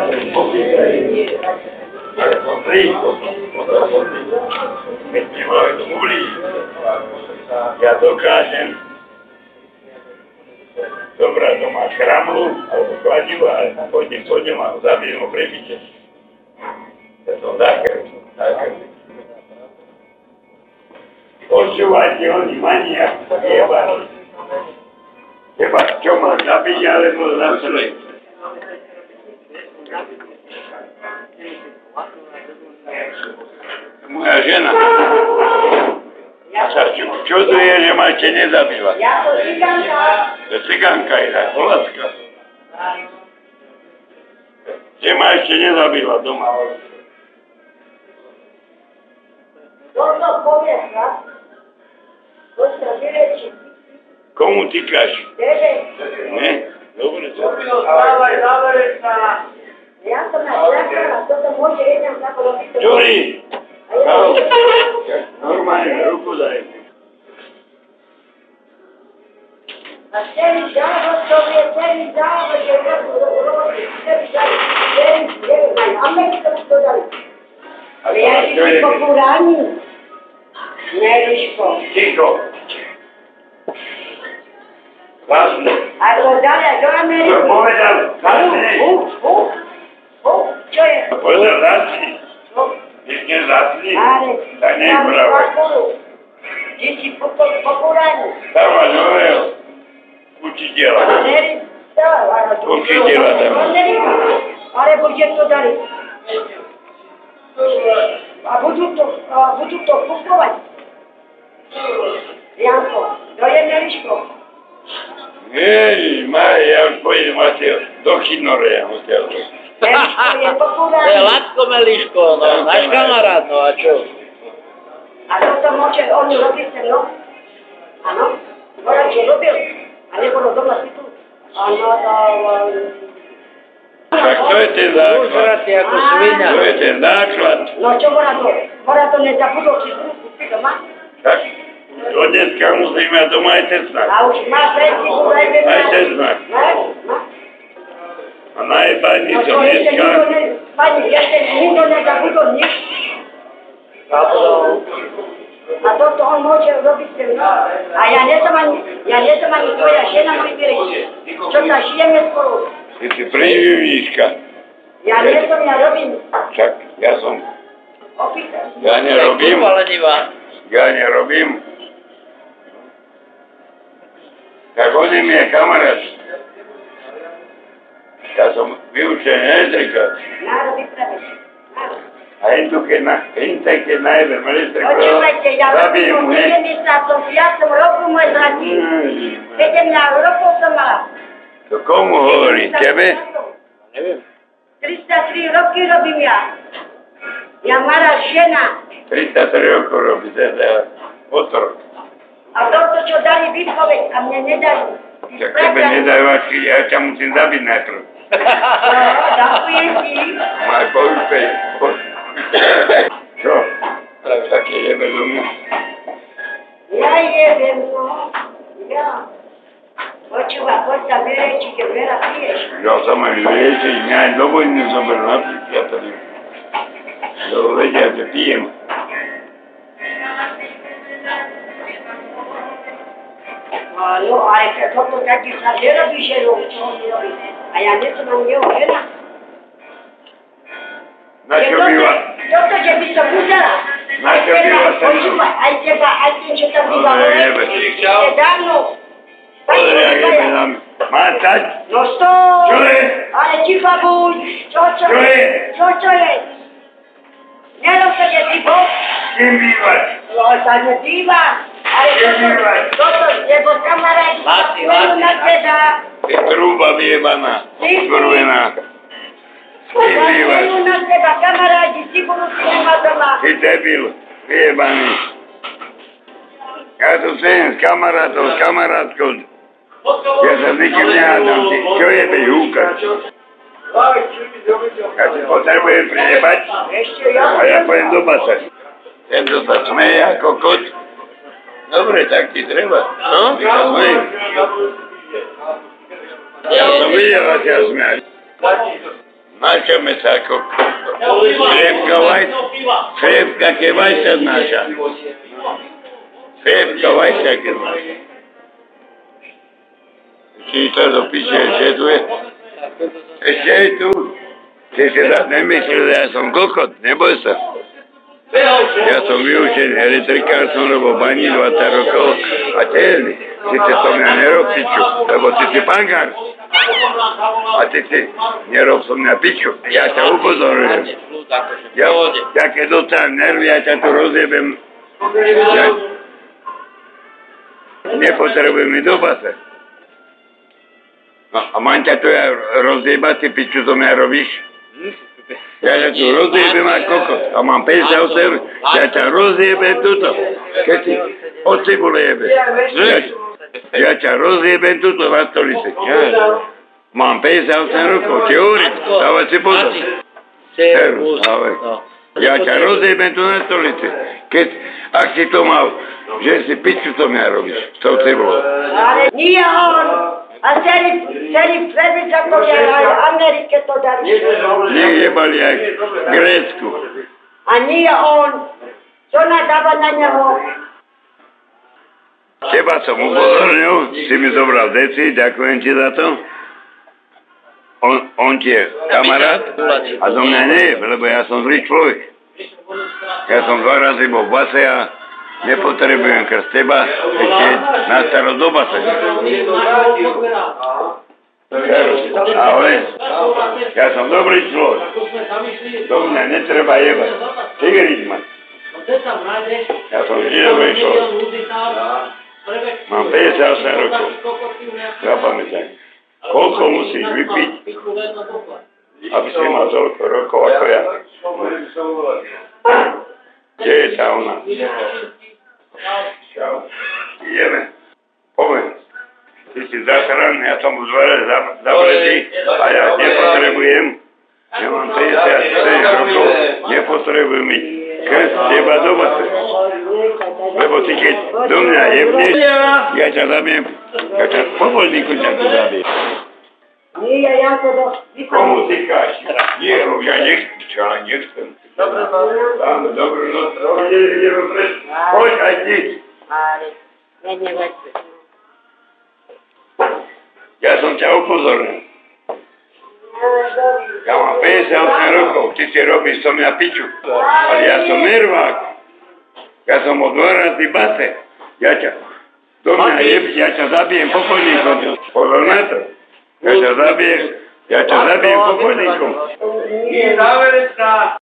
Ale som blízko, keď mi majú to ublížiť. Ja dokážem dobrať doma kramlu, alebo kladivu, ale pôjdem a zabijem ho prebiče. Ja som zakrv. Počúvajte, oni mania, jebali. Teba, čo ma zabiť, alebo zasleť. Moja žena. Sa čuduje, že ma ešte nezabila. Ja to cigánka. To cigánka je tak, Polacka. Že ma ešte nezabila doma. Toto povieš, no? To sa vyreči. Komu týkaš? Tebe. Ne? Dobre to. Dávaj, sa. Ja som na čakala, toto môže jeden tako robiť. Ďuri! Normálne, ruku daj. A celý závod, to je celý závod, že robí celý závod, a my to dali. Ale ja si po Kuráni. Neriško. Ticho. Vlastne. A to dali, a do Ameriky. To povedal, vlastne. Čo je? Povedal, vlastne. Pekne zasni. Tak nebrávaj. Ty si po Kuráni. Dávaj nového. Učiteľa. Učiteľa dávaj. Alebo že to dali. A budú to kupovať. Janko, to je Meliško. Ježiš, ja už pojedem asi do Chinoreja. Meliško je po Kuráni. To je Latko Meliško, no, náš kamarát, no a čo? A toto môže on robiť ten rok? Áno, Moravče robil. A nebolo doma si tu. Áno, Tak to je ten základ. Užratý ako svinia. To je ten základ. no čo Mora to nezabudol si kúpiť doma? Tak, do dneska musíme mať doma aj Tesla. A už má predtihu najmä Aj Tesla. Má? A najebajný No som to ešte dneska. pani, ešte nikto nezabudol nič. A toto on môže robiť ten rok. A ja nie som ani tvoja žena, môj vyrejší. Čo sa žijeme spolu. Ty si preživníčka. Ja nie som, ja robím. Však ja som. Opýtaj. Ja nerobím. Kurva lenivá. Ja nerobím. Tak on je mi je kamarát. Ja som vyučený elektrikár. Národ vypravíš. A keď najebem elektrikár, Počúvajte, ja zabijem mu, robím hej. 75. roku môj zlatý. 17 rokov som mala. To komu hovorí? Tebe? Neviem. 33 roky robím ja. Ja mala žena. 33 rokov robí teda otrok. A toto, čo dali výpoveď, a mne nedajú. Tak tebe nedajú ačky, ja ťa musím zabiť najprv. Ďakujem ti. Maj poúspej. Čo? Tak jebe do mňa. Ja jebem, no. Ja. Počúva, poď sa vyrečiť, keď veľa piješ. Ja sa ma vyliečiť, mňa aj do vojny zoberú napiť, ja tady. Lebo vedia, že pijem. No, ale toto taký sa nerobí, že čo on robí. A ja nie som ani jeho žena. Na čo býva? Toto, že by som musela. Na čo býva sa? Počúvaj, aj teba, aj tým, čo tam býva. Ale jebe. Je dávno. Pozri, jak jebe nám. Má stať? No stoj! Čo je? Ale ticho buď! Čo je? Čo je? Nerob sa, že ticho? S kým bývaš? No sa nedíva. Ale toto, lebo kamaráti sa pôjdu na teba. Ty trúba vyjebaná. Skurvená. S kým bývaš? Pôjdu na teba, kamaráti, si budú si nema doma. Ty debil. Vyjebaný. Ja tu sedím s kamarátkou. Ja sa nikým nehádam. Ty čo jebeš húkať? Ja si potrebujem prijebať a ja pôjdem do basa. Tento sa smeje ako kot. Dobre, tak ti treba. No? Ty sa smeje. Ja som videl, že ťa smeje. Načame sa ako Šrepka ke vajsa naša. Šrepka vajsa ke naša. Či to dopíše, ešte tu je? Ešte je tu. Ty si zase nemyslel, ja som kokot, neboj sa. Ja som vyučený elektrikár, som robil bani 20 rokov a tiež si to mňa nerob piču, lebo ty si pangár. A ty si nerob som mňa piču, ja ťa upozorňujem. Ja keď dostanem nervy, ja ťa tu rozjebem. Ja nepotrebujem mi do base. A mám ťa tu ja rozjebať, ty piču to mňa robíš? Ja ťa tu rozjebem ako kokos. A mám 58, ja ťa rozjebem tuto. Keď si od cibule jebe. Ja ťa rozjebem tuto na stolici. Mám 58 rokov, ti hovorím, dávaj si pozor. Ja ťa rozjebem tu na stolici. Ak si to mal, že si piču to mňa robíš. S tou cibulou. Ale nie on. A celý Prebičakovia aj v Amerike to darí. Nejebali aj v Grécku. A nie on. Čo nadáva na neho? Teba som upozornil, si mi zobral deci, ďakujem ti za to. On ti je kamarát a do mňa nie je, lebo ja som zlý človek. Ja som 2 razy bol v base a nepotrebujem krst teba ešte na staro do base. Ale ja som dobrý človek. Do mňa netreba jebať. Tigriť ma. Ja som vždy dobrý človek. Mám 58 rokov. Zapamätaj. Koľko musíš vypiť, aby si mal toľko rokov ako ja? Kde je tá ona? Čau. Ideme. Poďme. Ty si zasraný, ja som už dvere zavretý a ja nepotrebujem. Ja mám 57 rokov, nepotrebujem mi krst teba do base. Lebo ty keď do mňa jebneš, ja ťa zabijem. Ja ťa povolníku ťa tu zabijem. Nie, ja to do... Komu týkáš? Nie, ja nechcem. Čo, ale nechcem. Dáme dobrú noc. Poď aj ty. Ale, nevedzme. Ja som ťa upozornil. Ja mám 58 rokov, ty si robíš so mňa piču. Ale ja som nervák. Ja som od dvorací base. Ja ťa do mňa jebí, ja ťa zabijem pokojníkom. Pozor na to. Ja ťa zabijem pokojníkom. Nie, záverečná.